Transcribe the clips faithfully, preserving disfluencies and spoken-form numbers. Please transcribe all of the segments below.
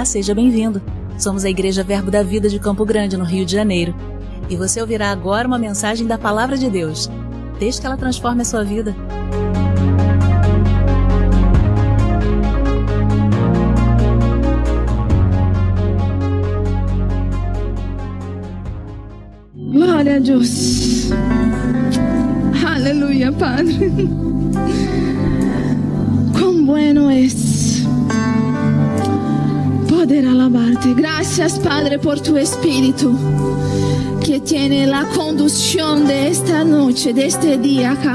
Olá, seja bem-vindo. Somos a Igreja Verbo da Vida de Campo Grande, no Rio de Janeiro. E você ouvirá agora uma mensagem da Palavra de Deus. Desde que ela transforme a sua vida. Glória a Deus. Aleluya, Padre. Cuán bueno es poder alabarte. Gracias, Padre, por tu Espíritu que tiene la conducción de esta noche, de este día acá.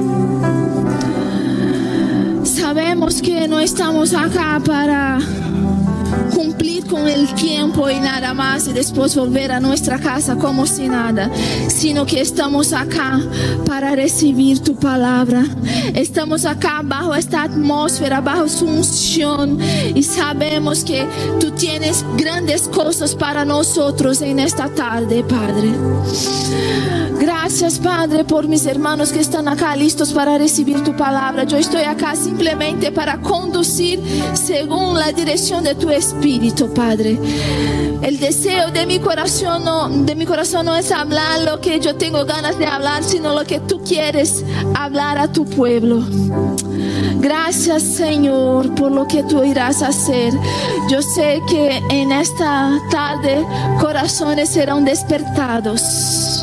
Sabemos que no estamos acá para cumplir con el tiempo y nada más y después volver a nuestra casa como si nada, sino que estamos acá para recibir tu palabra. Estamos acá bajo esta atmósfera, bajo su unción, y sabemos que tú tienes grandes cosas para nosotros en esta tarde, Padre. Gracias, Padre, por mis hermanos que están acá listos para recibir tu palabra. Yo estoy acá simplemente para conducir según la dirección de tu Espíritu, Padre. El deseo de mi corazón no, de mi corazón no es hablar lo que yo tengo ganas de hablar, sino lo que tú quieres hablar a tu pueblo. Gracias, Señor, por lo que tú irás a hacer. Yo sé que en esta tarde corazones serán despertados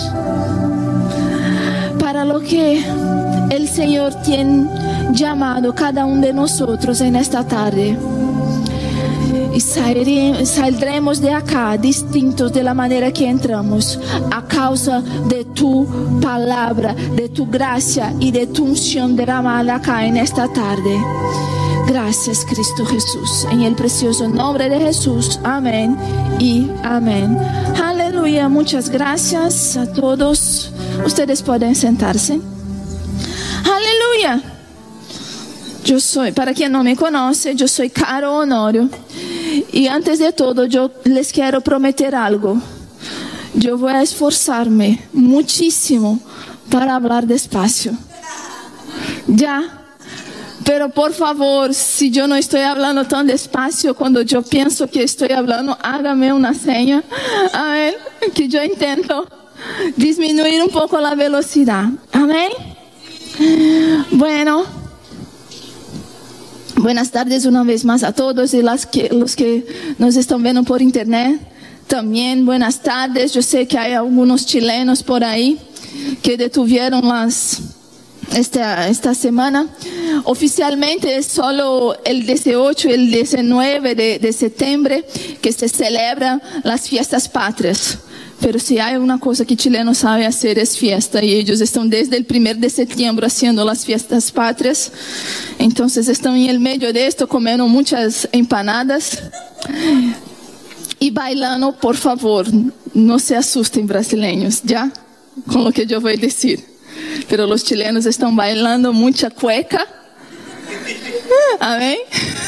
para lo que el Señor tiene llamado cada uno de nosotros en esta tarde. Y saldremos de acá distintos de la manera que entramos, a causa de tu palabra, de tu gracia y de tu unción derramada acá en esta tarde. Gracias, Cristo Jesús, en el precioso nombre de Jesús. Amén y amén. Aleluya, muchas gracias a todos. Ustedes pueden sentarse. Aleluya. Yo soy, para quien no me conoce, yo soy Caro Honorio. Y antes de todo, yo les quiero prometer algo. Yo voy a esforzarme muchísimo para hablar despacio. Ya. Pero por favor, si yo no estoy hablando tan despacio, cuando yo pienso que estoy hablando, hágame una seña. A ver, que yo intento disminuir un poco la velocidad. Amén. Bueno. Buenas tardes una vez más a todos y las que, los que nos están viendo por internet. También buenas tardes. Yo sé que hay algunos chilenos por ahí que detuvieron las, esta, esta semana. Oficialmente es solo el dieciocho y el diecinueve de, de septiembre que se celebran las fiestas patrias. Pero si hay una cosa que Chile sabe hacer es fiesta, y ellos están desde el primero de septiembre haciendo las fiestas patrias. Entonces están en el medio de esto comiendo muchas empanadas y bailando. Por favor, no se asusten, brasileños, ya con lo que yo voy a decir. Pero los chilenos están bailando mucha cueca. Amén.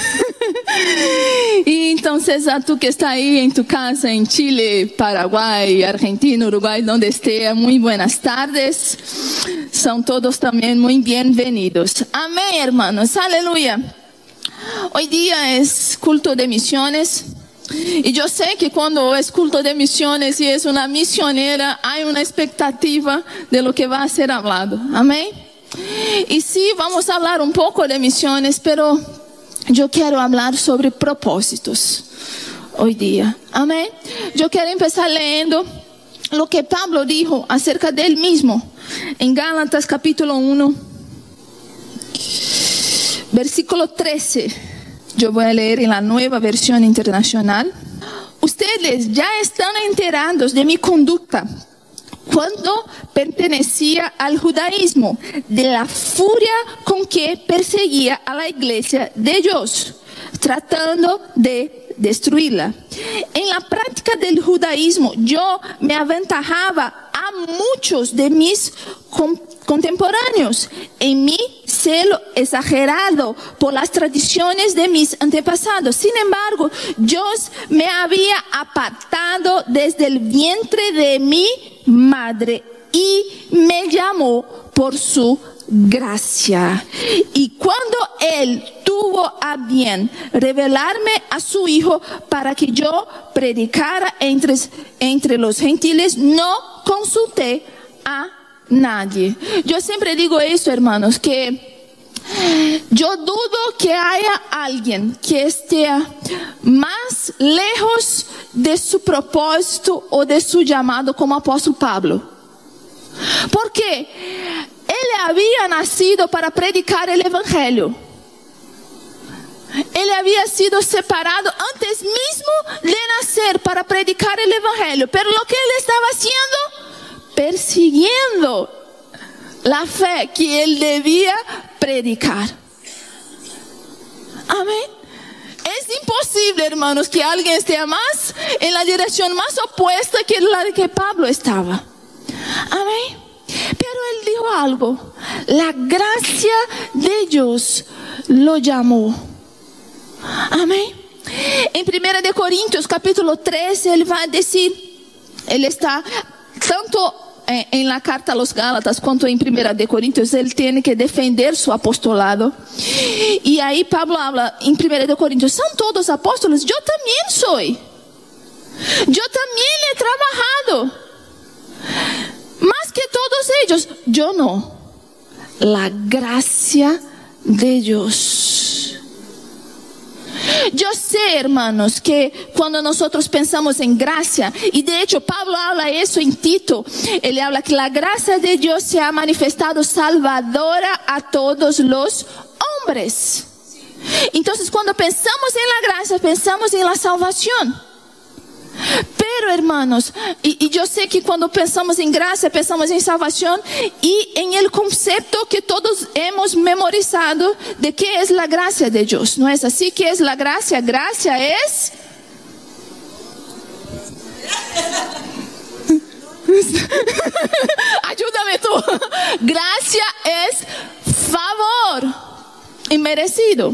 Y entonces a tú que está ahí en tu casa en Chile, Paraguay, Argentina, Uruguay, donde esté, muy buenas tardes. Son todos también muy bienvenidos. Amén, hermanos. Aleluya. Hoy día es culto de misiones. Y yo sé que cuando es culto de misiones y es una misionera, hay una expectativa de lo que va a ser hablado. Amén. Y sí, vamos a hablar un poco de misiones, pero yo quiero hablar sobre propósitos hoy día. Amén. Yo quiero empezar leyendo lo que Pablo dijo acerca de él mismo en Gálatas capítulo uno, versículo trece. Yo voy a leer en la Nueva Versión Internacional. Ustedes ya están enterados de mi conducta cuando pertenecía al judaísmo, de la furia con que perseguía a la iglesia de Dios, tratando de destruirla. En la práctica del judaísmo, yo me aventajaba a muchos de mis contemporáneos en mi celo exagerado por las tradiciones de mis antepasados. Sin embargo, Dios me había apartado desde el vientre de mi madre y me llamó por su gracia. Y cuando Él tuvo tuvo a bien revelarme a su Hijo para que yo predicara entre, entre los gentiles. No consulté a nadie. Yo siempre digo esto, hermanos, que yo dudo que haya alguien que esté más lejos de su propósito o de su llamado como apóstol Pablo. Porque él había nacido para predicar el evangelio. Él había sido separado antes mismo de nacer para predicar el evangelio. Pero lo que él estaba haciendo, persiguiendo la fe que él debía predicar. Amén. Es imposible, hermanos, que alguien esté más en la dirección más opuesta que la de que Pablo estaba. Amén. Pero él dijo algo. La gracia de Dios lo llamó. Amén. En primera de Corintios capítulo trece él va a decir, él está tanto en la carta a los Gálatas cuanto en primera de Corintios, él tiene que defender su apostolado. Y ahí Pablo habla en primera de Corintios, son todos apóstoles, yo también soy. Yo también he trabajado. Más que todos ellos, yo no. La gracia de Dios. Yo sé, hermanos, que cuando nosotros pensamos en gracia, y de hecho Pablo habla eso en Tito, él habla que la gracia de Dios se ha manifestado salvadora a todos los hombres. Entonces cuando pensamos en la gracia, pensamos en la salvación. Pero hermanos, y, y yo sé que cuando pensamos en gracia, pensamos en salvación y en el concepto que todos hemos memorizado de qué es la gracia de Dios. ¿No es así? ¿Qué es la gracia? Gracia es... Ayúdame tú. Gracia es favor inmerecido.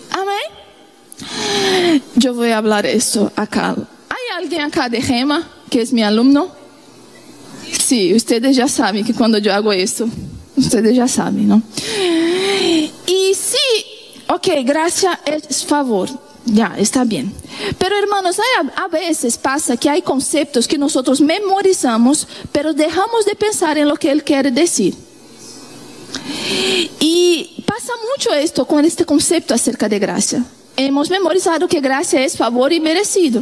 Amén. Yo voy a hablar esto acá. ¿Hay alguien acá de Gema que es mi alumno? Sí, ustedes ya saben que cuando yo hago esto, ustedes ya saben, ¿no? Y sí, ok, gracia es favor, ya, está bien. Pero hermanos, hay, a veces pasa que hay conceptos que nosotros memorizamos, pero dejamos de pensar en lo que él quiere decir. Y pasa mucho esto con este concepto acerca de gracia. Hemos memorizado que gracia es favor inmerecido.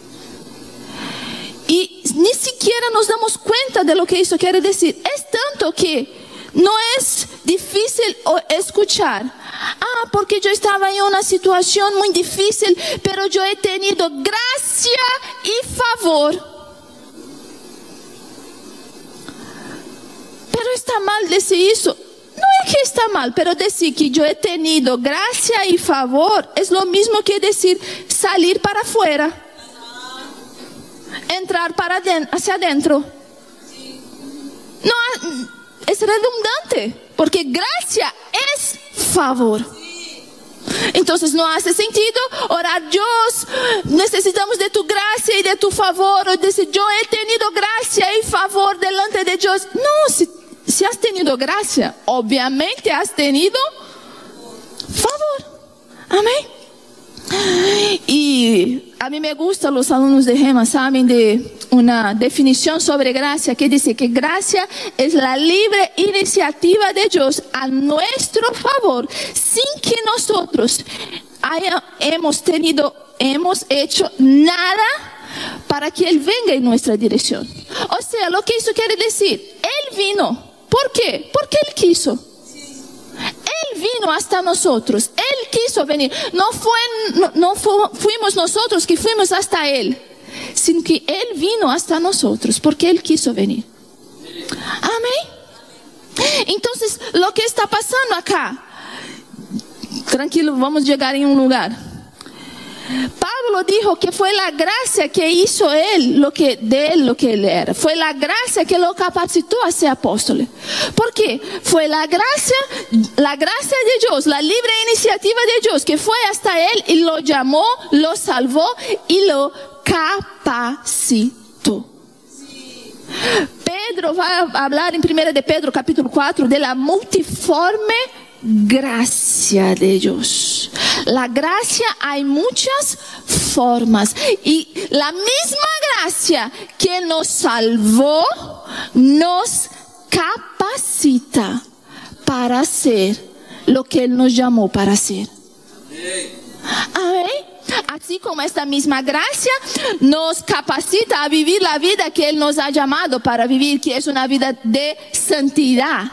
Y ni siquiera nos damos cuenta de lo que eso quiere decir. Es tanto que no es difícil escuchar. Ah, porque yo estaba en una situación muy difícil, pero yo he tenido gracia y favor. Pero está mal decir eso. No es que está mal, pero decir que yo he tenido gracia y favor es lo mismo que decir salir para afuera. Entrar para hacia adentro. No, es redundante, porque gracia es favor. Entonces no hace sentido orar, Dios, necesitamos de tu gracia y de tu favor, o decir, yo he tenido gracia y favor delante de Dios. No, si, si has tenido gracia, obviamente has tenido favor. Amén. Y a mí me gustan los alumnos de Gema, saben de una definición sobre gracia que dice que gracia es la libre iniciativa de Dios a nuestro favor sin que nosotros haya, hemos tenido, hemos hecho nada para que Él venga en nuestra dirección. O sea, lo que eso quiere decir, Él vino. ¿Por qué? Porque Él quiso. Él vino hasta nosotros, Él quiso venir. No, fue, no, no fu, fuimos nosotros que fuimos hasta Él, sino que Él vino hasta nosotros porque Él quiso venir. Amén. Entonces, lo que está pasando acá, tranquilo, vamos a llegar en un lugar. Pablo dijo que fue la gracia que hizo él, lo que, de él lo que él era. Fue la gracia que lo capacitó a ser apóstol. ¿Por qué? Fue la gracia, la gracia de Dios, la libre iniciativa de Dios que fue hasta él y lo llamó, lo salvó y lo capacitó. Pedro va a hablar en primera de Pedro capítulo cuatro de la multiforme gracia de Dios. La gracia hay muchas formas. Y la misma gracia que nos salvó, nos capacita para hacer lo que Él nos llamó para hacer. Amén. Así como esta misma gracia nos capacita a vivir la vida que Él nos ha llamado para vivir, que es una vida de santidad.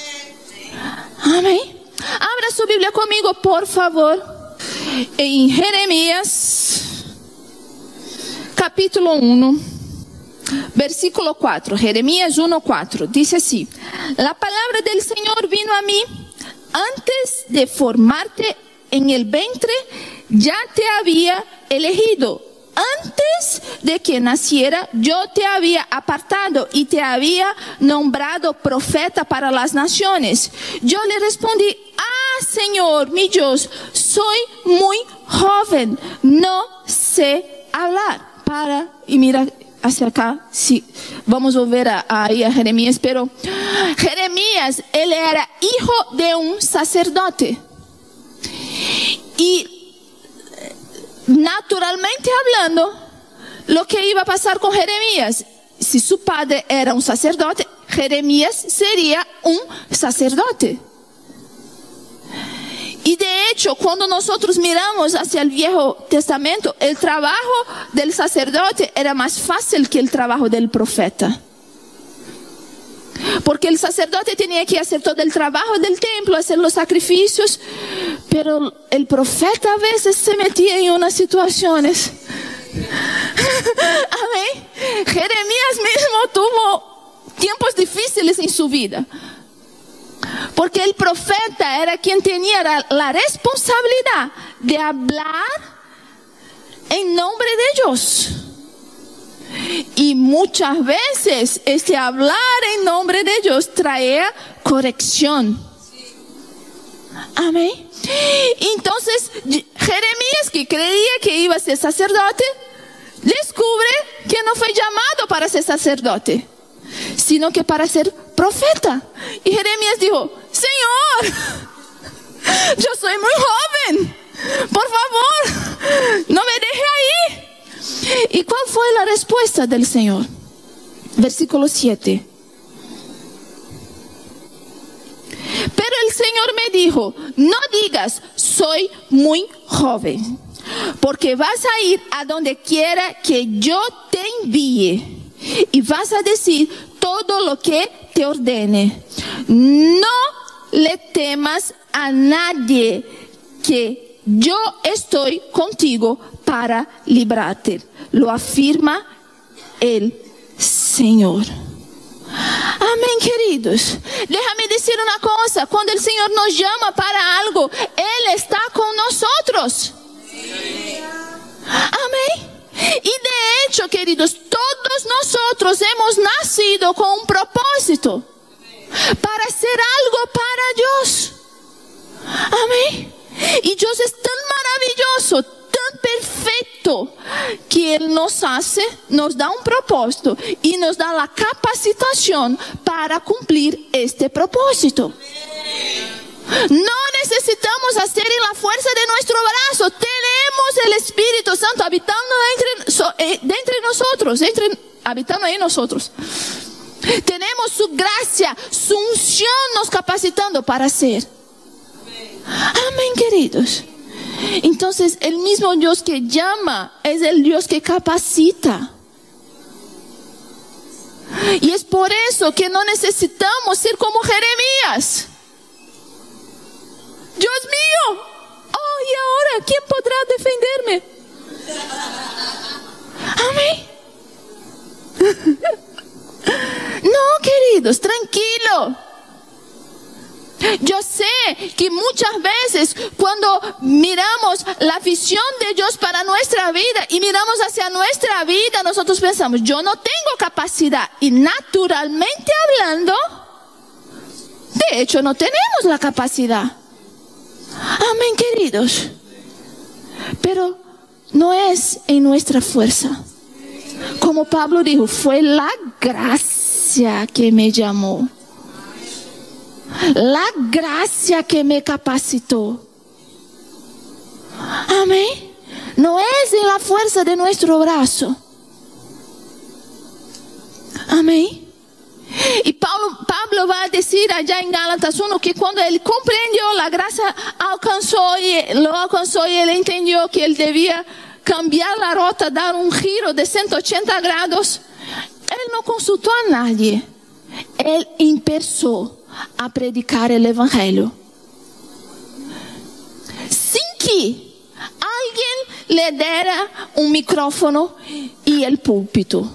Amén. Abra su Biblia conmigo, por favor, en Jeremías, capítulo uno, versículo cuatro. Jeremías uno, cuatro. Dice así: la palabra del Señor vino a mí antes de formarte en el vientre, ya te había elegido. Antes de que naciera, yo te había apartado y te había nombrado profeta para las naciones. Yo le respondí: ah, Señor, mi Dios, soy muy joven, no sé hablar. Para, y mira hacia acá, sí, vamos a volver a, a, a Jeremías, pero Jeremías, él era hijo de un sacerdote. Y naturalmente hablando, lo que iba a pasar con Jeremías, si su padre era un sacerdote, Jeremías sería un sacerdote. Y de hecho, cuando nosotros miramos hacia el Viejo Testamento, el trabajo del sacerdote era más fácil que el trabajo del profeta. Porque el sacerdote tenía que hacer todo el trabajo del templo, hacer los sacrificios, pero el profeta a veces se metía en unas situaciones. Amén. Jeremías mismo tuvo tiempos difíciles en su vida, porque el profeta era quien tenía la responsabilidad de hablar en nombre de Dios. Y muchas veces este hablar en nombre de Dios traía corrección. Amén. Entonces Jeremías, que creía que iba a ser sacerdote, descubre que no fue llamado para ser sacerdote, sino que para ser profeta. Y Jeremías dijo: Señor, yo soy muy joven, por favor, no me deje ahí. ¿Y cuál fue la respuesta del Señor? Versículo siete. Pero el Señor me dijo: no digas soy muy joven, porque vas a ir a donde quiera que yo te envíe y vas a decir todo lo que te ordene. No le temas a nadie, que yo estoy contigo para librarte. Lo afirma el Señor. Amén, queridos. Déjame decir una cosa: cuando el Señor nos llama para algo, Él está con nosotros. Amén. Y de hecho, queridos, todos nosotros hemos nacido con un propósito, para hacer algo para Dios. Amén. Y Dios es tan maravilloso, tan perfecto, que Él nos hace, nos da un propósito y nos da la capacitación para cumplir este propósito. No necesitamos hacer en la fuerza de nuestro brazo. Tenemos el Espíritu Santo habitando entre, so, eh, de entre nosotros, entre, habitando en nosotros. Tenemos su gracia, su unción nos capacitando para hacer. Amén, queridos. Entonces, el mismo Dios que llama es el Dios que capacita. Y es por eso que no necesitamos ser como Jeremías. Dios mío, oh, ¿y ahora quién podrá defenderme? Amén. No, queridos, tranquilo. Yo sé que muchas veces cuando miramos la visión de Dios para nuestra vida y miramos hacia nuestra vida, nosotros pensamos: yo no tengo capacidad. Y naturalmente hablando, de hecho no tenemos la capacidad. Amén, queridos. Pero no es en nuestra fuerza. Como Pablo dijo, fue la gracia que me llamó, la gracia que me capacitó. Amén. No es en la fuerza de nuestro brazo. Amén. Y Pablo, Pablo va a decir allá en Gálatas uno que cuando él comprendió, la gracia alcanzó y lo alcanzó y él entendió que él debía cambiar la ruta, dar un giro de ciento ochenta grados. Él no consultó a nadie. Él empezó a predicar el evangelio. Sin que alguien le diera un micrófono y el púlpito.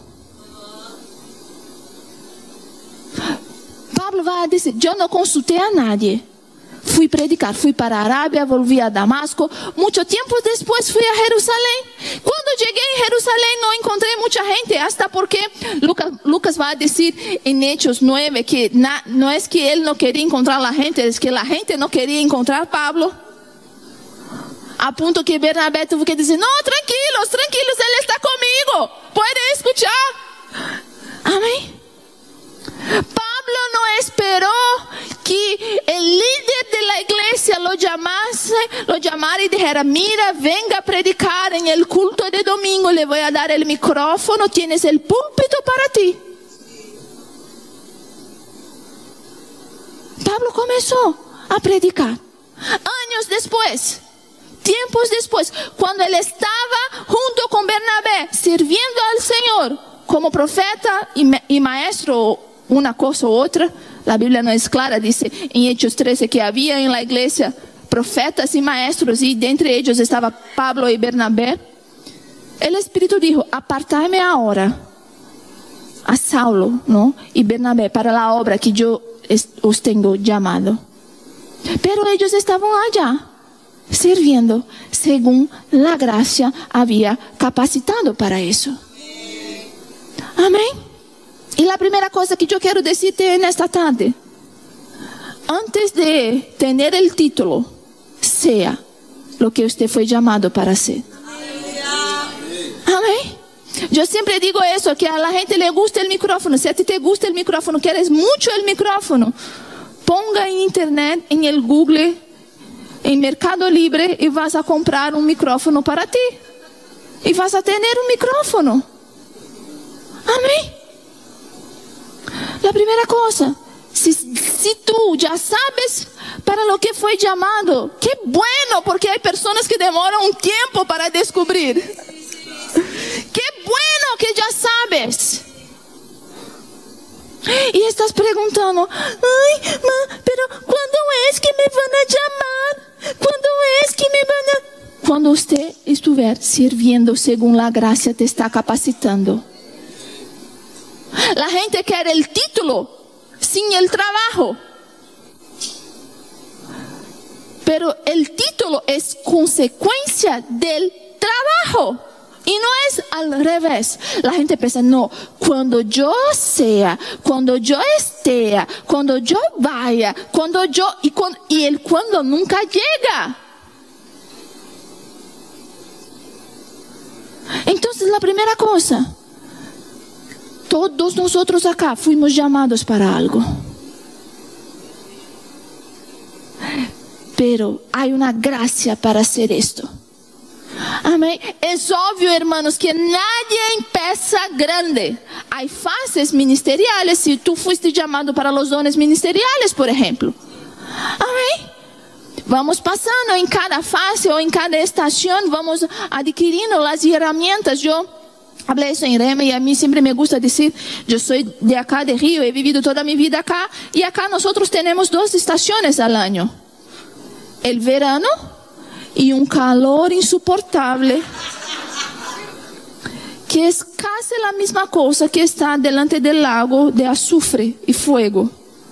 Pablo va a decir, yo no consulté a nadie. Fui predicar, fui para Arabia, volví a Damasco. Mucho tiempo después fui a Jerusalén. Cuando llegué en Jerusalén no encontré mucha gente, hasta porque Lucas, Lucas va a decir en Hechos nueve que na, no es que él no quería encontrar a la gente, es que la gente no quería encontrar a Pablo. A punto que Bernabé tuvo que decir, no, tranquilos, tranquilos, él está conmigo. Pueden escuchar. Amén. Pablo no esperó que el líder de la iglesia lo llamase, lo llamara y dijera, mira, venga a predicar en el culto de domingo, le voy a dar el micrófono, tienes el púlpito para ti. Pablo comenzó a predicar. Años después, tiempos después, cuando él estaba junto con Bernabé, sirviendo al Señor como profeta y, y maestro, una cosa u otra, la Biblia no es clara, dice en Hechos trece que había en la iglesia profetas y maestros y de entre ellos estaba Pablo y Bernabé. El Espíritu dijo, apartadme ahora a Saulo, ¿no? y Bernabé para la obra que yo os tengo llamado. Pero ellos estaban allá sirviendo según la gracia había capacitado para eso. Amén. Y la primera cosa que yo quiero decirte en esta tarde, antes de tener el título, sea lo que usted fue llamado para ser. Amén. Yo siempre digo eso, que a la gente le gusta el micrófono. Si a ti te gusta el micrófono, quieres mucho el micrófono, ponga en internet, en el Google, en Mercado Libre y vas a comprar un micrófono para ti. Y vas a tener un micrófono. Amén. La primera cosa, si, si tú ya sabes para lo que fue llamado, qué bueno, porque hay personas que demoran un tiempo para descubrir. Qué bueno que ya sabes. Y estás preguntando, ay, ma, pero ¿cuándo es que me van a llamar? ¿Cuándo es que me van a...? Cuando usted estuviera sirviendo según la gracia te está capacitando. La gente quiere el título sin el trabajo. Pero el título es consecuencia del trabajo. Y no es al revés. La gente piensa, no, cuando yo sea, cuando yo esté, cuando yo vaya, cuando yo... Y, cuando, y el cuando nunca llega. Entonces la primera cosa, todos nosotros acá fuimos llamados para algo. Pero hay una gracia para hacer esto. Amén. Es obvio, hermanos, que nadie empieza grande. Hay fases ministeriales. Si tú fuiste llamado para los dones ministeriales, por ejemplo. Amén. Vamos pasando en cada fase o en cada estación, vamos adquiriendo las herramientas. Yo hablé eso en Rema y a mí siempre me gusta decir, yo soy de acá, de Río, he vivido toda mi vida acá. Y acá nosotros tenemos dos estaciones al año. El verano y un calor insoportable, que es casi la misma cosa que está delante del lago de azufre y fuego.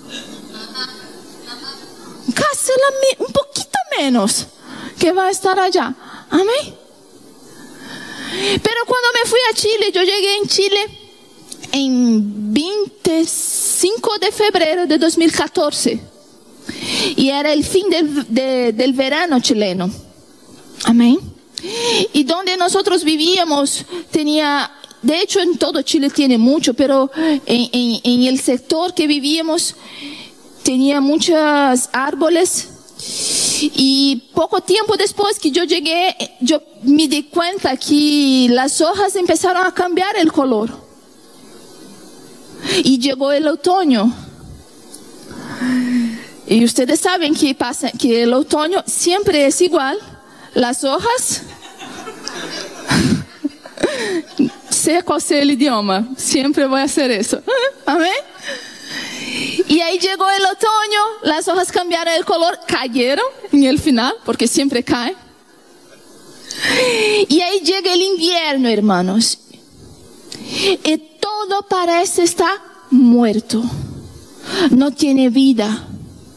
Casi la, un poquito menos que va a estar allá. Amén. Pero cuando me fui a Chile, yo llegué en Chile en veinticinco de febrero de dos mil catorce. Y era el fin del, de, del verano chileno. Amén. Y donde nosotros vivíamos tenía, de hecho en todo Chile tiene mucho, pero en, en, en el sector que vivíamos tenía muchos árboles Y poco tiempo después que yo llegué, yo me di cuenta que las hojas empezaron a cambiar el color. Y llegó el otoño. Y ustedes saben que pasa, que el otoño siempre es igual. Las hojas, sea cual sea el idioma, siempre voy a hacer eso. Amén. Y ahí llegó el otoño, las hojas cambiaron el color, cayeron en el final, porque siempre caen. Y ahí llega el invierno, hermanos. Y todo parece estar muerto. No tiene vida.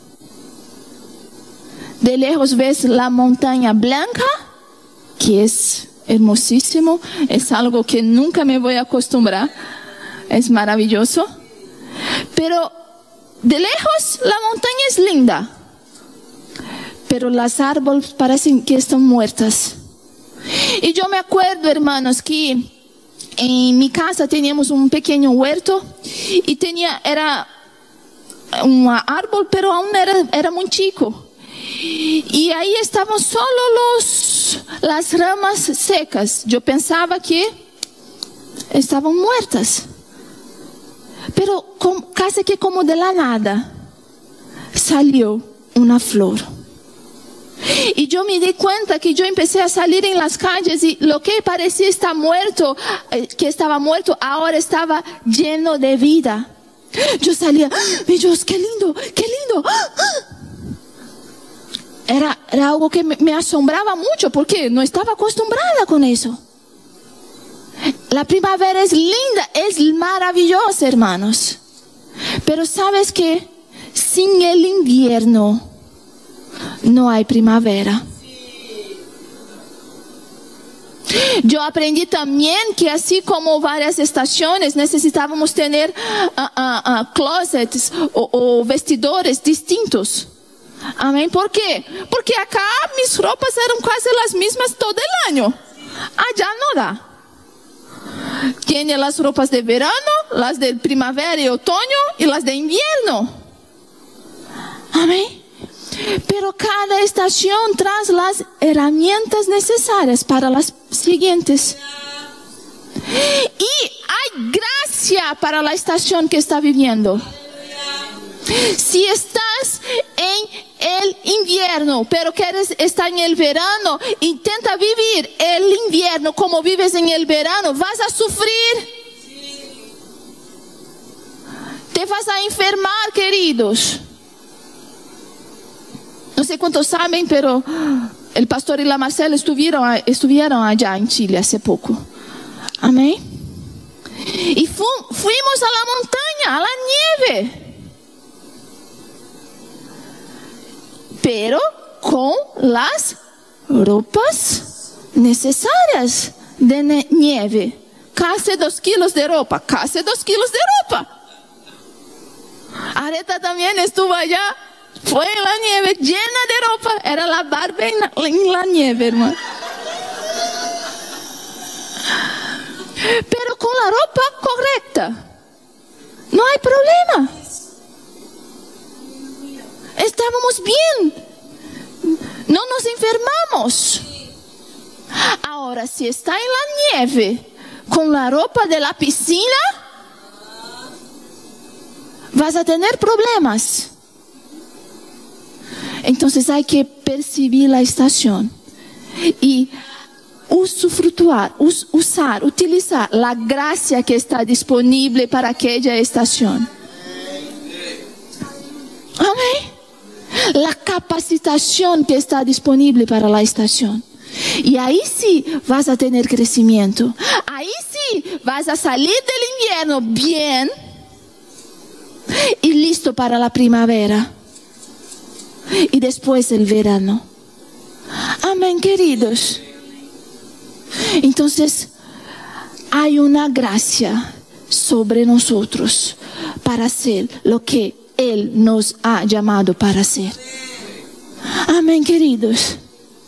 De lejos ves la montaña blanca, que es hermosísimo, es algo que nunca me voy a acostumbrar, es maravilloso. Pero de lejos la montaña es linda, pero las árboles parecen que están muertas. Y yo me acuerdo, hermanos, que en mi casa teníamos un pequeño huerto y tenía, era un árbol, pero aún era, era muy chico. Y ahí estaban solo los, las ramas secas. Yo pensaba que estaban muertas. Pero com, casi que como de la nada salió una flor. Y yo me di cuenta que yo empecé a salir en las calles y lo que parecía estar muerto, eh, que estaba muerto, ahora estaba lleno de vida. Yo salía, mi Dios, qué lindo, qué lindo. Era, era algo que me, me asombraba mucho porque no estaba acostumbrada con eso. La primavera es linda, es maravillosa, hermanos. Pero ¿sabes qué? Sin el invierno no hay primavera. Yo aprendí también que así como varias estaciones necesitábamos tener uh, uh, uh, closets o, o vestidores distintos. Amén. ¿Por qué? Porque acá mis ropas eran casi las mismas todo el año. Allá no da. Tiene las ropas de verano, las de primavera y otoño y las de invierno. Amén. Pero cada estación trae las herramientas necesarias para las siguientes. Y hay gracia para la estación que está viviendo. Si estás en el invierno, pero quieres estar en el verano, intenta vivir el invierno como vives en el verano. Vas a sufrir. Te vas a enfermar, queridos. No sé cuántos saben, pero el pastor y la Marcela estuvieron, estuvieron allá en Chile hace poco. Amén. Y fu fuimos a la montaña, a la nieve. Pero con las ropas necesarias de nieve. Casi dos kilos de ropa, casi dos kilos de ropa. Areta también estuvo allá, fue en la nieve, llena de ropa. Era la Barbie en la, en la nieve, hermano. Pero con la ropa correcta, no hay problema. Estábamos bien. No nos enfermamos. Ahora, si está en la nieve con la ropa de la piscina, vas a tener problemas. Entonces hay que percibir la estación y usufructuar, us, usar, utilizar la gracia que está disponible para aquella estación. Amén. La capacitación que está disponible para la estación. Y ahí sí vas a tener crecimiento. Ahí sí vas a salir del invierno bien y listo para la primavera. Y después el verano. Amén, queridos. Entonces, hay una gracia sobre nosotros para hacer lo que Él nos ha llamado para hacer. Amén, queridos.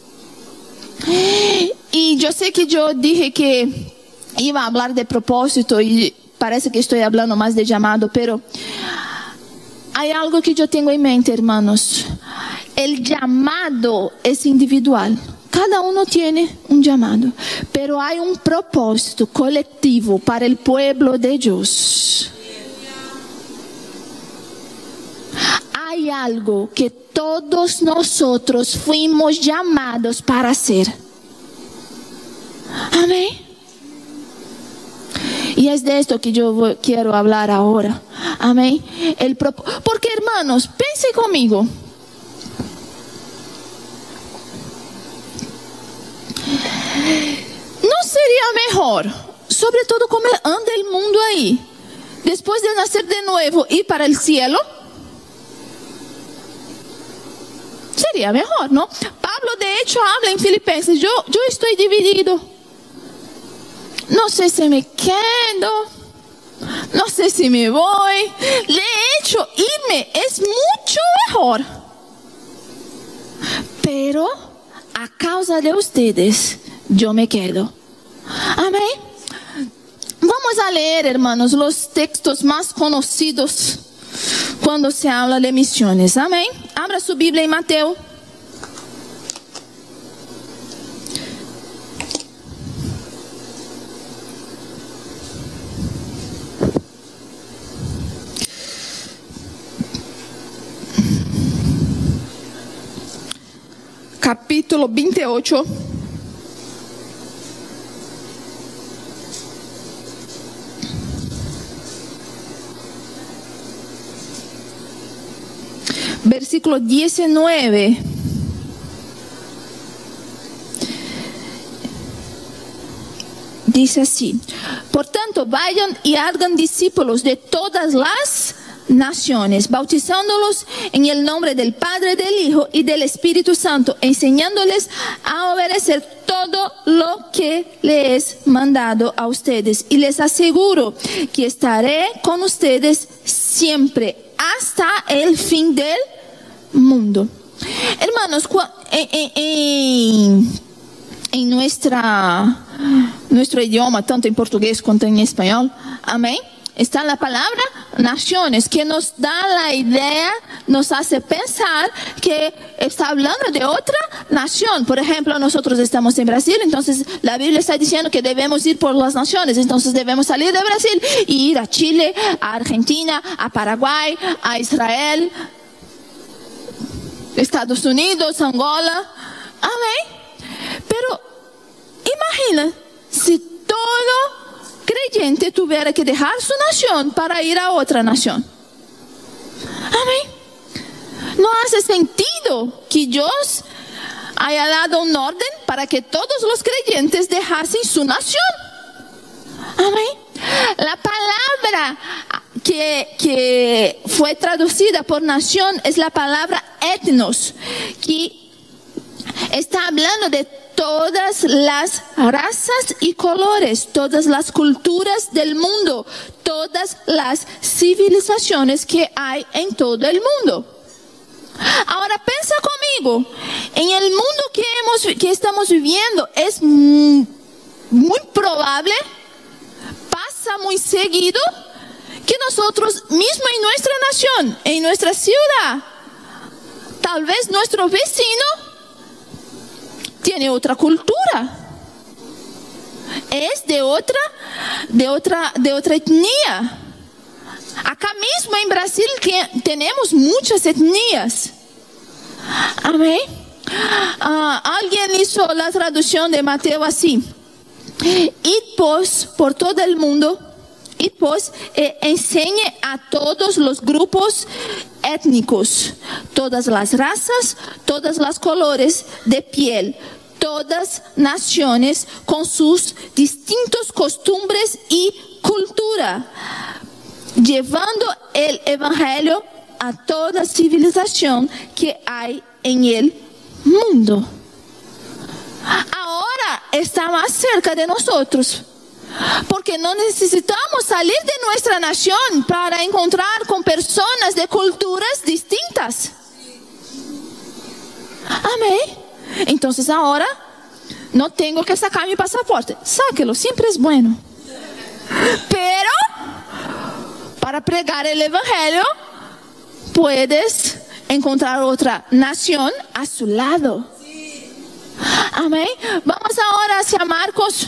Y yo sé que yo dije que iba a hablar de propósito y parece que estoy hablando más de llamado, pero hay algo que yo tengo en mente, hermanos. el llamado es individual. Cada uno tiene un llamado, pero hay un propósito colectivo para el pueblo de Dios. Hay algo que todos nosotros fuimos llamados para hacer. Amén. Y es de esto que yo voy, quiero hablar ahora. Amén. El prop- Porque hermanos, piensen conmigo. ¿No sería mejor, sobre todo como anda el mundo ahí, después de nacer de nuevo, ir para el cielo? Sería mejor, ¿no? Pablo de hecho habla en Filipenses, yo, yo estoy dividido. No sé si me quedo, no sé si me voy. De hecho, irme es mucho mejor. Pero a causa de ustedes, yo me quedo. Amén. Vamos a leer, hermanos, los textos más conocidos cuando se habla de misiones. Amén. Abra su Biblia en Mateo. Capítulo veintiocho. Versículo diecinueve. Dice así: por tanto, vayan y hagan discípulos de todas las naciones, bautizándolos en el nombre del Padre, del Hijo y del Espíritu Santo, enseñándoles a obedecer todo lo que les he mandado a ustedes. Y les aseguro que estaré con ustedes siempre hasta el fin del mundo. Hermanos, en, en, en, en nuestra, nuestro idioma, tanto en portugués como en español, amén, está la palabra naciones, que nos da la idea, nos hace pensar que está hablando de otra nación. Por ejemplo, nosotros estamos en Brasil, entonces la Biblia está diciendo que debemos ir por las naciones, entonces debemos salir de Brasil y ir a Chile, a Argentina, a Paraguay, a Israel, Estados Unidos, Angola. Amén. Pero imagina si todo creyente tuviera que dejar su nación para ir a otra nación. Amén. No hace sentido que Dios haya dado un orden para que todos los creyentes dejasen su nación. Amén. La palabra que, que fue traducida por nación es la palabra etnos, que está hablando de todas las razas y colores, todas las culturas del mundo, todas las civilizaciones que hay en todo el mundo. Ahora piensa conmigo, en el mundo que, hemos, que estamos viviendo es muy probable, pasa muy seguido, que nosotros mismos en nuestra nación, en nuestra ciudad, tal vez nuestro vecino tiene otra cultura, es de otra, de otra, de otra etnia. Acá mismo en Brasil que tenemos muchas etnias. Amén. Uh, alguien hizo la traducción de Mateo así: id pues por todo el mundo, id pues e enseñe a todos los grupos étnicos, todas las razas, todas las colores de piel, todas naciones con sus distintos costumbres y cultura, llevando el evangelio a toda civilización que hay en el mundo. Ahora está más cerca de nosotros, porque no necesitamos salir de nuestra nación para encontrar con personas de culturas distintas. Amén. Entonces ahora no tengo que sacar mi pasaporte. Sáquelo, siempre es bueno. Pero para pregar el evangelio puedes encontrar otra nación a su lado. Amén. Vamos ahora hacia Marcos.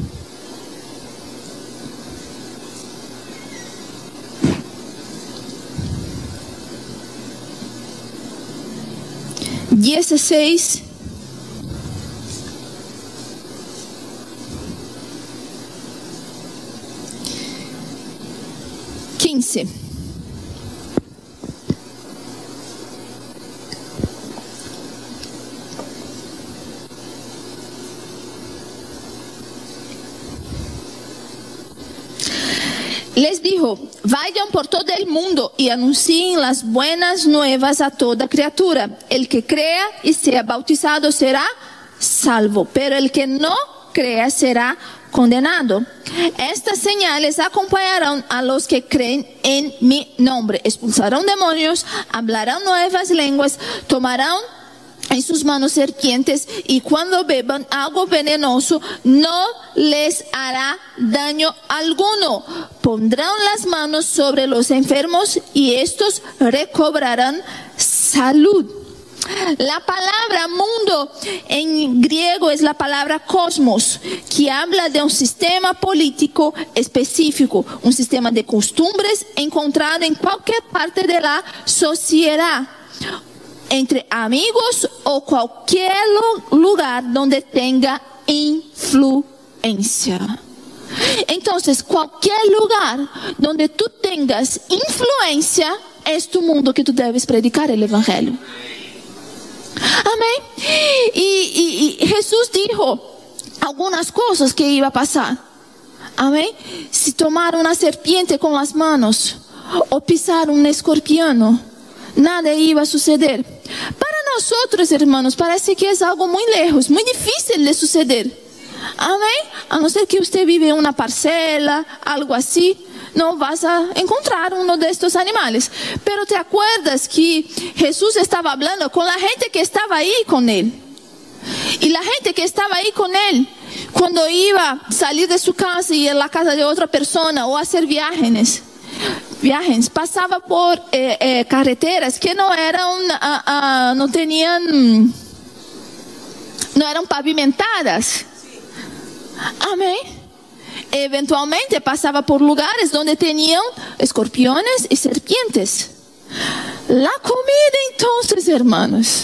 dieciséis. quince. Les dijo, vayan por todo el mundo y anuncien las buenas nuevas a toda criatura. El que crea y sea bautizado será salvo, pero el que no crea será condenado. Estas señales acompañarán a los que creen en mi nombre. Expulsarán demonios, hablarán nuevas lenguas, tomarán en sus manos serpientes, y cuando beban algo venenoso no les hará daño alguno. Pondrán las manos sobre los enfermos y estos recobrarán salud. La palabra mundo en griego es la palabra cosmos, que habla de un sistema político específico, un sistema de costumbres encontrado en cualquier parte de la sociedad, entre amigos o cualquier lugar donde tenga influencia. Entonces, cualquier lugar donde tú tengas influencia es tu mundo que tú debes predicar el evangelio. Amén. Y, y, y Jesús dijo algunas cosas que iba a pasar. Amén. Si tomar una serpiente con las manos o pisar un escorpión, nada iba a suceder. Para nosotros, hermanos, parece que es algo muy lejos, muy difícil de suceder. Amén. A no ser que usted vive en una parcela, algo así, no vas a encontrar uno de estos animales. Pero te acuerdas que Jesús estaba hablando con la gente que estaba ahí con él. Y la gente que estaba ahí con él, cuando iba a salir de su casa y ir a la casa de otra persona o hacer viajes, viajes, pasaba por eh, eh, carreteras que no eran, uh, uh, no tenían, no eran pavimentadas. Amén. Eventualmente pasaba por lugares donde tenían escorpiones y serpientes. La comida, entonces, hermanos,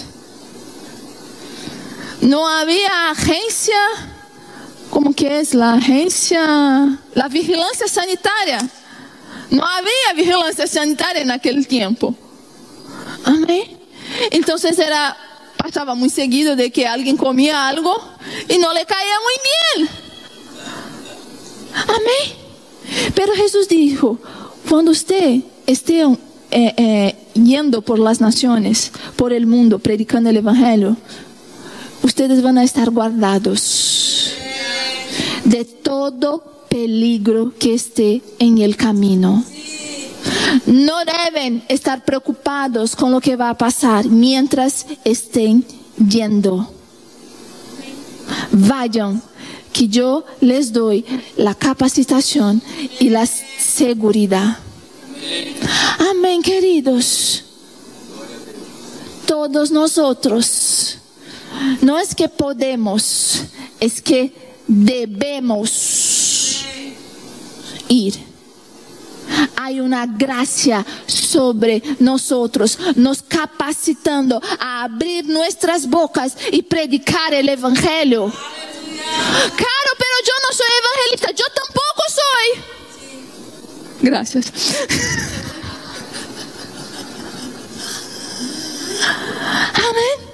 no había agencia, ¿cómo que es la agencia? La vigilancia sanitaria. No había vigilancia sanitaria en aquel tiempo. Amén. Entonces era, pasaba muy seguido de que alguien comía algo y no le caía muy bien. Amén. Pero Jesús dijo, cuando usted esté eh, eh, yendo por las naciones, por el mundo, predicando el evangelio, ustedes van a estar guardados de todo peligro que esté en el camino. No deben estar preocupados con lo que va a pasar mientras estén yendo. Vayan, que yo les doy la capacitación y la seguridad. Amén, queridos. Todos nosotros, no es que podemos, es que debemos ir. Hay una gracia sobre nosotros, nos capacitando a abrir nuestras bocas y predicar el evangelio. Claro, pero yo no soy evangelista, yo tampoco soy. Gracias. Amén.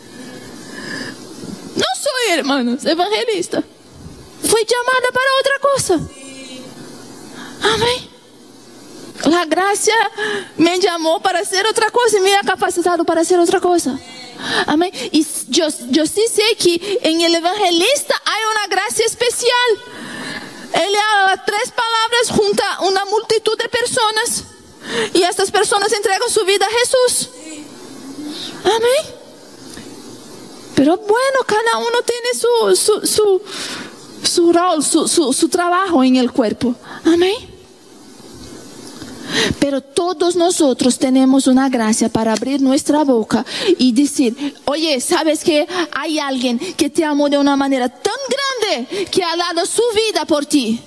No soy, hermanos, evangelista. Fui llamada para otra cosa. Amén. La gracia me llamó para hacer otra cosa y me ha capacitado para hacer otra cosa. Amén. Y yo, yo sí sé que en el evangelista hay una gracia especial. Él habla tres palabras junto a una multitud de personas y estas personas entregan su vida a Jesús. Amén. Pero bueno, cada uno tiene su, su, su, su rol, su, su, su trabajo en el cuerpo. Amén. Pero todos nosotros tenemos una gracia para abrir nuestra boca y decir, oye, ¿sabes que hay alguien que te amó de una manera tan grande que ha dado su vida por ti?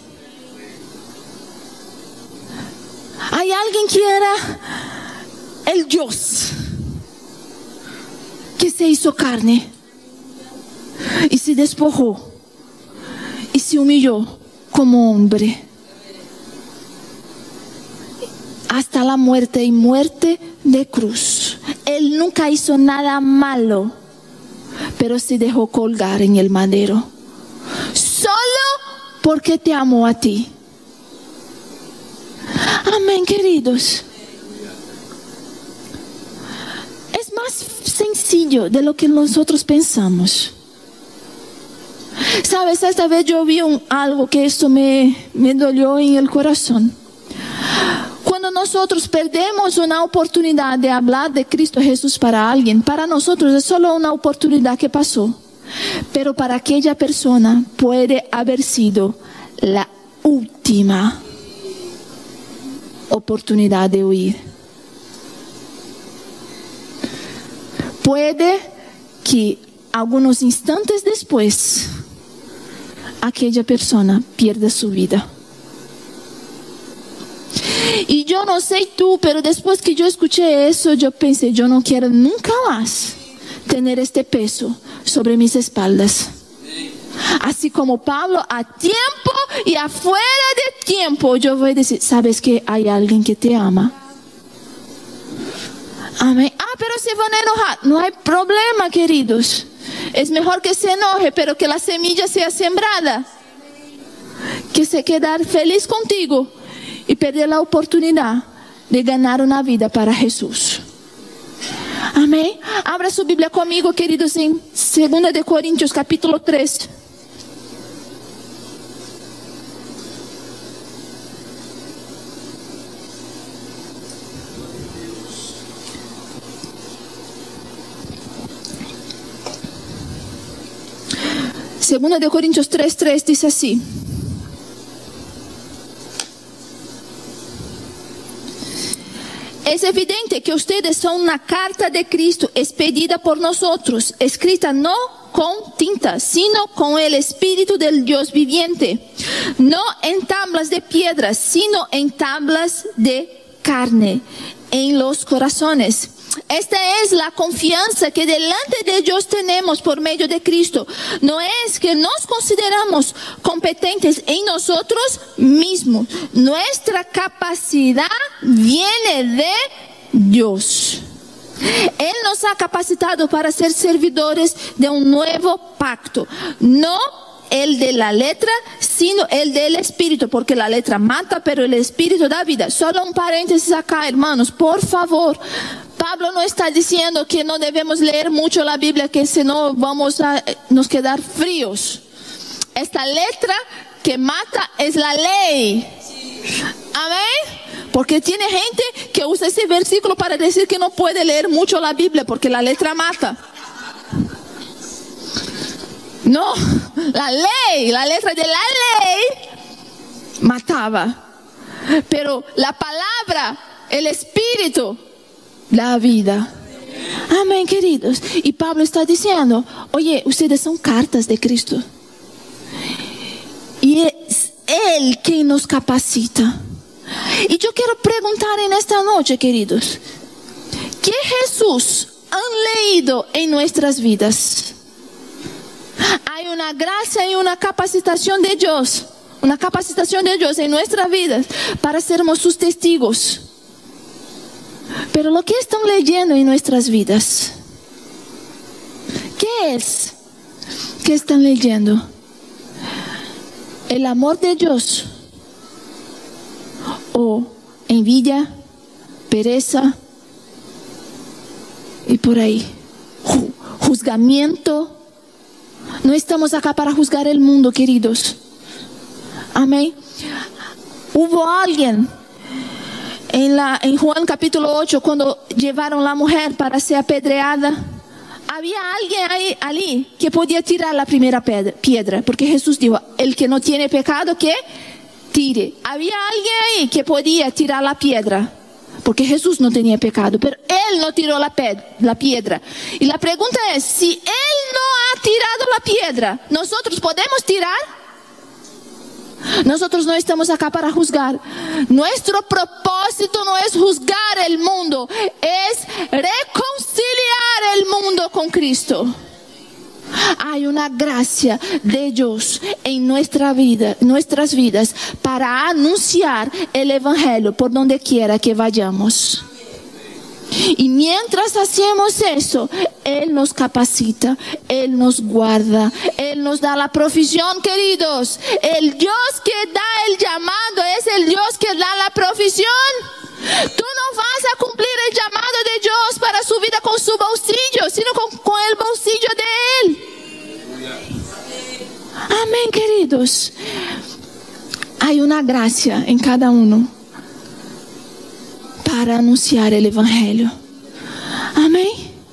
Hay alguien que era el Dios, que se hizo carne y se despojó y se humilló como hombre hasta la muerte y muerte de cruz. Él nunca hizo nada malo, pero se dejó colgar en el madero solo porque te amó a ti. Amén, queridos. Es más sencillo de lo que nosotros pensamos. Sabes, esta vez yo vi un, algo que esto me, me dolió en el corazón. Cuando nosotros perdemos una oportunidad de hablar de Cristo Jesús para alguien, para nosotros es solo una oportunidad que pasó. Pero para aquella persona puede haber sido la última oportunidad de huir. Puede que algunos instantes después aquella persona pierda su vida. Y yo no sé tú, pero después que yo escuché eso, yo pensé, yo no quiero nunca más tener este peso sobre mis espaldas. Así como Pablo, a tiempo y afuera de tiempo, yo voy a decir, ¿sabes que hay alguien que te ama? Amén. Ah, pero se van a enojar. No hay problema, queridos. Es mejor que se enoje, pero que la semilla sea sembrada. Que se quedar feliz contigo y perder la oportunidad de ganar una vida para Jesús. Amén. Abra su Biblia conmigo, queridos, en segunda de Corintios capítulo tres. Segunda de Corintios tres, tres dice así. Es evidente que ustedes son una carta de Cristo expedida por nosotros, escrita no con tinta, sino con el Espíritu del Dios viviente, no en tablas de piedra, sino en tablas de carne, en los corazones. Esta es la confianza que delante de Dios tenemos por medio de Cristo. No es que nos consideramos competentes en nosotros mismos. Nuestra capacidad viene de Dios. Él nos ha capacitado para ser servidores de un nuevo pacto. No el de la letra, sino el del Espíritu, porque la letra mata, pero el Espíritu da vida. Solo un paréntesis acá, hermanos, por favor. Pablo no está diciendo que no debemos leer mucho la Biblia, que si no vamos a nos quedar fríos. Esta letra que mata es la ley. Amén. Porque tiene gente que usa ese versículo para decir que no puede leer mucho la Biblia porque la letra mata. No, la ley, la letra de la ley mataba. Pero la palabra, el Espíritu, la vida. Amén, queridos. Y Pablo está diciendo, oye, ustedes son cartas de Cristo. Y es Él quien nos capacita. Y yo quiero preguntar en esta noche, queridos, ¿qué Jesús han leído en nuestras vidas? Hay una gracia y una capacitación de Dios, una capacitación de Dios en nuestras vidas para sermos sus testigos. Pero lo que están leyendo en nuestras vidas, ¿qué es? ¿Qué están leyendo? ¿El amor de Dios? ¿O envidia, pereza y por ahí? ¿Juzgamiento? No estamos acá para juzgar el mundo, queridos. Amén. Hubo alguien en, la, en Juan capítulo ocho, cuando llevaron a la mujer para ser apedreada, había alguien ahí, allí que podía tirar la primera piedra, piedra, porque Jesús dijo, el que no tiene pecado, que tire tire. Había alguien ahí que podía tirar la piedra, porque Jesús no tenía pecado, pero Él no tiró la, la piedra. Y la pregunta es, si Él no ha tirado la piedra, ¿nosotros podemos tirar? Nosotros no estamos acá para juzgar. Nuestro propósito no es juzgar el mundo, es reconciliar el mundo con Cristo. Hay una gracia de Dios en nuestra vida, nuestras vidas, para anunciar el Evangelio por donde quiera que vayamos. Y mientras hacemos eso, Él nos capacita, Él nos guarda, Él nos da la provisión, queridos. El Dios que da el llamado es el Dios que da la provisión. Tú no vas a cumplir el llamado de Dios para su vida con su bolsillo, sino con, con el bolsillo de Él. Amén, queridos. Hay una gracia en cada uno para anunciar el Evangelio. Amén.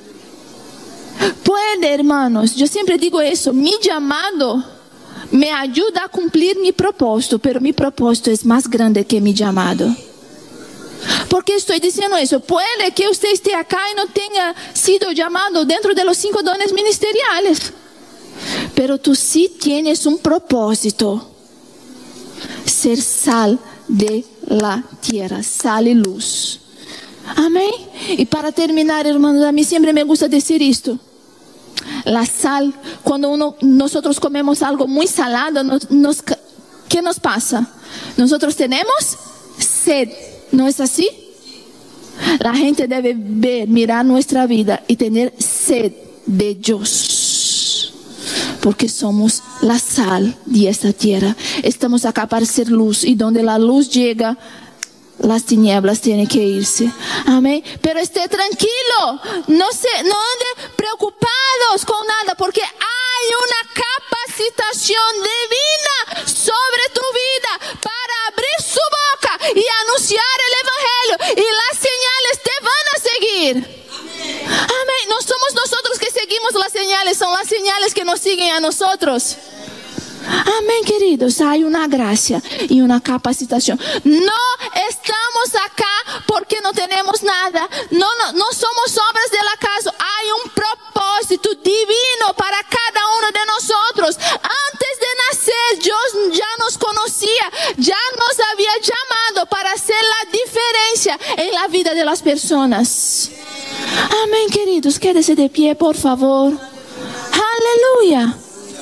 Puede, hermanos, yo siempre digo eso, mi llamado me ayuda a cumplir mi propósito, pero mi propósito es más grande que mi llamado. ¿Por qué estoy diciendo eso? Puede que usted esté acá y no tenga sido llamado dentro de los cinco dones ministeriales, pero tú sí tienes un propósito: ser sal de la tierra, sal y luz. Amén. Y para terminar, hermanos, a mí siempre me gusta decir esto: la sal, cuando uno, nosotros comemos algo muy salado, nos, nos, ¿qué nos pasa? Nosotros tenemos sed, ¿no es así? La gente debe ver, mirar nuestra vida y tener sed de Dios, porque somos la sal de esta tierra. Estamos acá para ser luz, y donde la luz llega, las tinieblas tienen que irse. Amén. Pero esté tranquilo, no se, no ande preocupados con nada, porque hay una capacitación divina sobre tu vida para abrir su boca y anunciar el Evangelio, y las señales te van a seguir. Amén. No somos nosotros que seguimos las señales, son las señales que nos siguen a nosotros. Amén, queridos. Hay una gracia y una capacitación. No estamos acá porque no tenemos nada. No, no, no somos obras del acaso. Hay un propósito divino para cada uno de nosotros. Antes de nacer, Dios ya nos conocía, ya nos había llamado para hacer la diferencia en la vida de las personas. Amén, queridos. Quédese de pie, por favor. Aleluya.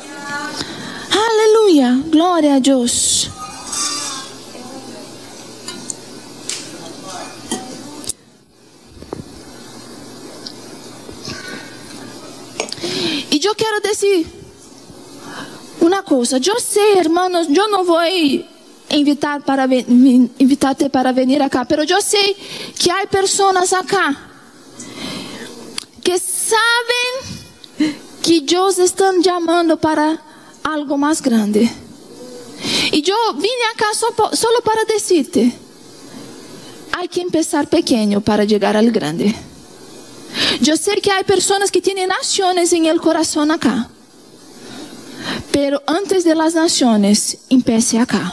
Aleluya, gloria a Dios. Y yo quiero decir una cosa. Yo sé, hermanos, yo no voy a invitar para ven, invitarte para venir acá, pero yo sé que hay personas acá que saben que Dios está llamando para algo más grande. Y yo vine acá solo, solo para decirte: hay que empezar pequeño para llegar al grande. Yo sé que hay personas que tienen naciones en el corazón acá, pero antes de las naciones, empiece acá.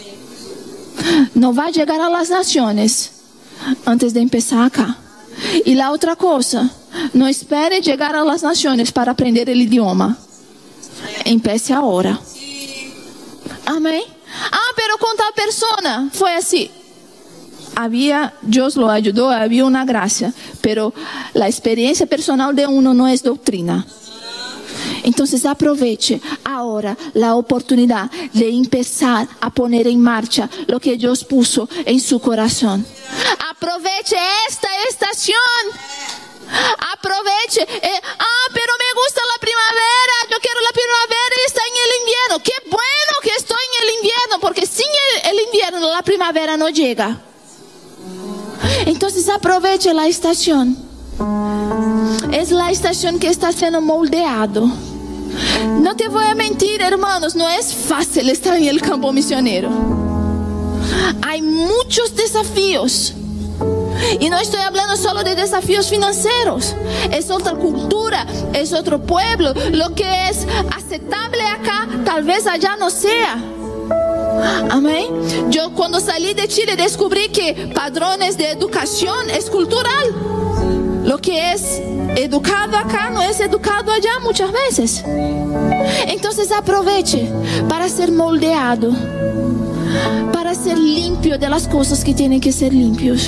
No va a llegar a las naciones antes de empezar acá. Y la otra cosa, no espere llegar a las naciones para aprender el idioma. Empiece ahora. Amén. Ah, pero con tal persona fue así. Había, Dios lo ayudó, había una gracia, pero la experiencia personal de uno no es doctrina. Entonces aproveche ahora la oportunidad de empezar a poner en marcha lo que Dios puso en su corazón. Aproveche esta estación. Aproveche. Eh, ah, pero me gusta la primavera. Yo quiero la primavera y está en el invierno. Qué bueno que estoy en el invierno, porque sin el, el invierno la primavera no llega. Entonces aproveche la estación. Es la estación que está siendo moldeado. No te voy a mentir, hermanos, no es fácil estar en el campo misionero. Hay muchos desafíos. Y no estoy hablando solo de desafíos financieros. Es otra cultura, es otro pueblo. Lo que es aceptable acá, tal vez allá no sea. Amén. Yo cuando salí de Chile descubrí que padrones de educación es cultural. Lo que es educado acá no es educado allá muchas veces. Entonces aproveche para ser moldeado, para ser limpio de las cosas que tienen que ser limpios.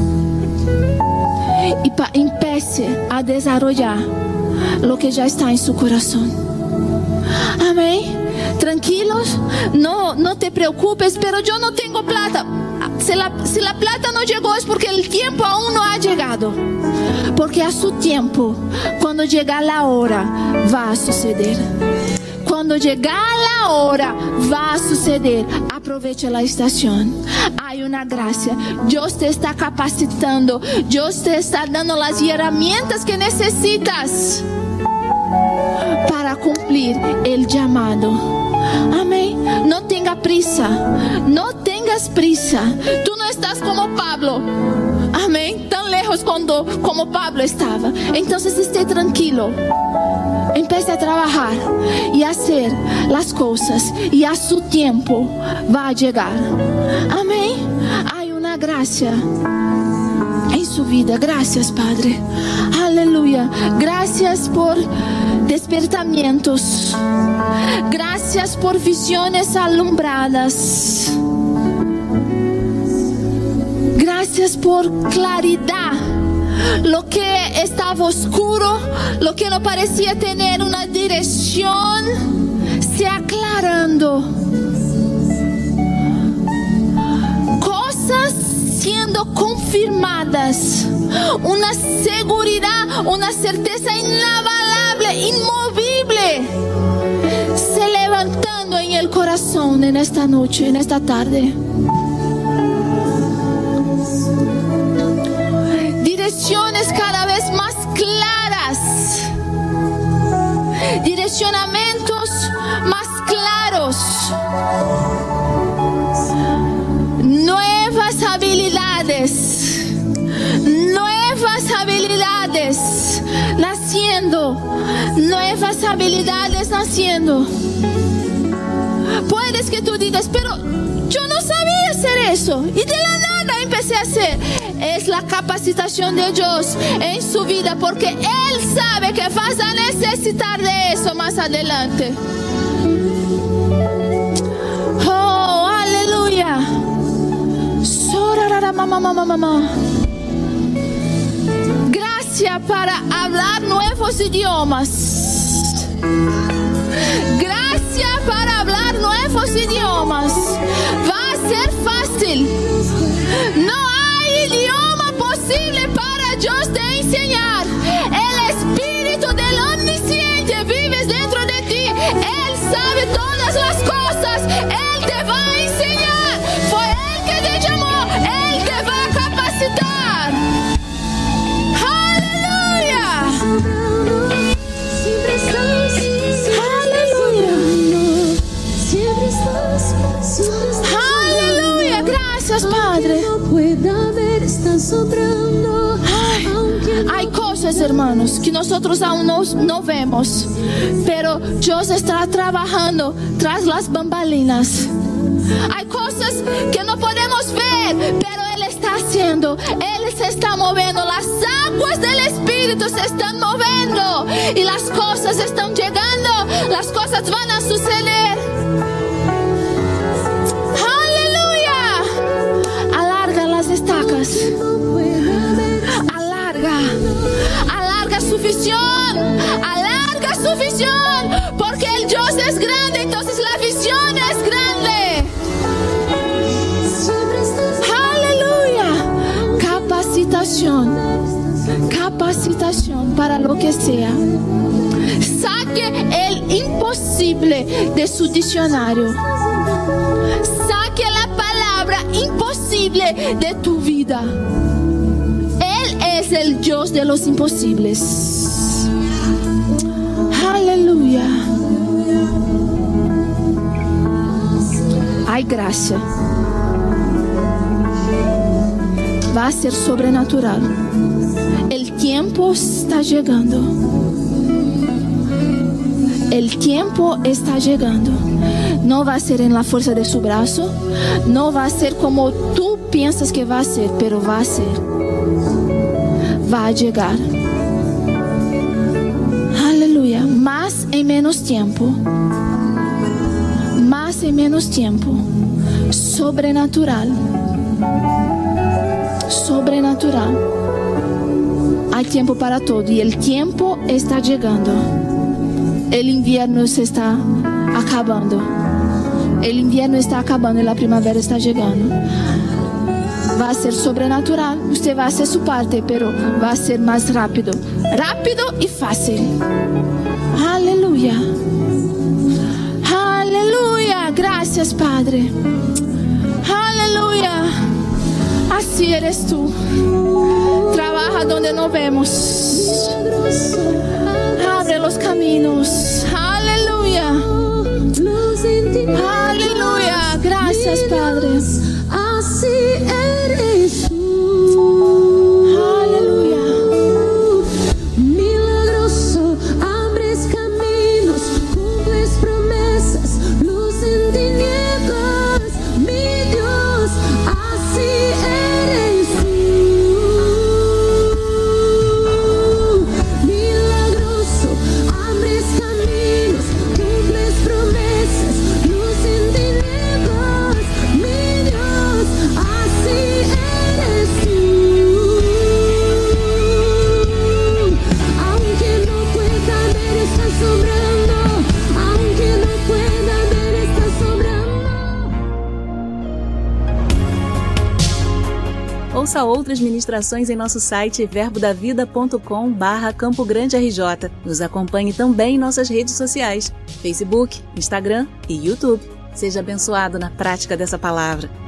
Y pa empiece a desarrollar lo que ya está en su corazón. Amén. Tranquilos, no, no te preocupes, pero yo no tengo plata. Si la, si la plata no llegó es porque el tiempo aún no ha llegado. Porque a su tiempo, cuando llega la hora, va a suceder. Cuando llega la hora, va a suceder. Aproveche la estación. Hay una gracia. Dios te está capacitando. Dios te está dando las herramientas que necesitas para cumplir el llamado. Amén. No tenga prisa. No tengas prisa. Tú no estás como Pablo. Amén. Tan lejos cuando, como Pablo estaba. Entonces esté tranquilo. Empiece a trabajar y a hacer las cosas. Y a su tiempo va a llegar. Amén. Hay una gracia en su vida. Gracias, Padre. Aleluya. Gracias por despertamientos. Gracias por visiones alumbradas. Gracias por claridad. Lo que estaba oscuro, lo que no parecía tener una dirección, se aclarando. Cosas siendo confirmadas. Una seguridad, una certeza inabalable, inmovible, se levantando en el corazón en esta noche, en esta tarde. Direcciones cada vez más claras, direccionamientos más claros, nuevas habilidades, nuevas habilidades naciendo, nuevas habilidades naciendo. Puedes que tú digas, pero yo no sabía hacer eso y de la nada empecé a hacer. Es la capacitación de Dios en su vida, porque Él sabe que vas a necesitar de eso más adelante. Oh, aleluya. Gracias para hablar nuevos idiomas. Gracias para hablar nuevos idiomas. Va a ser fácil. No hay idioma posible para Dios te enseñar. El Espíritu del Omnisciente vive dentro de ti. Él sabe todas las cosas. Él te va a enseñar. Fue Él que te llamó. Él te va a capacitar. ¡Aleluya! ¡Aleluya! Gracias, Padre. Ay, hay cosas, hermanos, que nosotros aún no, no vemos, pero Dios está trabajando tras las bambalinas. Hay cosas que no podemos ver, pero Él está haciendo. Él se está moviendo. Las aguas del Espíritu se están moviendo y las cosas están llegando. Las cosas van a suceder. Estacas, alarga, alarga su visión, alarga su visión, porque el Dios es grande, entonces la visión es grande. Aleluya. Capacitación, capacitación para lo que sea. Saque el imposible de su diccionario. Saque la palabra imposible de tu vida. Él es el Dios de los imposibles. Aleluya. Hay gracia. Va a ser sobrenatural. El tiempo está llegando. El tiempo está llegando. No va a ser en la fuerza de su brazo, no va a ser como tú piensas que va a ser, pero va a ser. Va a llegar. Aleluya. Más en menos tiempo. Más en menos tiempo. Sobrenatural. Sobrenatural. Hay tiempo para todo y el tiempo está llegando. El invierno se está acabando. El invierno está acabando y la primavera está llegando. Va a ser sobrenatural. Usted va a hacer su parte, pero va a ser más rápido. Rápido y fácil. Aleluya. Aleluya. Gracias, Padre. Aleluya. Así eres tú. Trabaja donde no vemos. Abre los caminos. Aleluya. Aleluya. Gracias, Padre. Así eres tú. Aleluya. Milagroso, abres caminos, cumples promesas, luz en tinieblas. Mi Dios, así eres tú. Milagroso, abres caminos, cumples promesas, luz en tinieblas. Mi Dios, así eres tú. Aunque no pueda ver, estás sobrando. Aunque no pueda ver, estás sobrando. Ouça outras ministrações em nosso site verbo da vida ponto com barra Campo Grande R J. Nos acompanhe também em nossas redes sociais, Facebook, Instagram e YouTube. Seja abençoado na prática dessa palavra.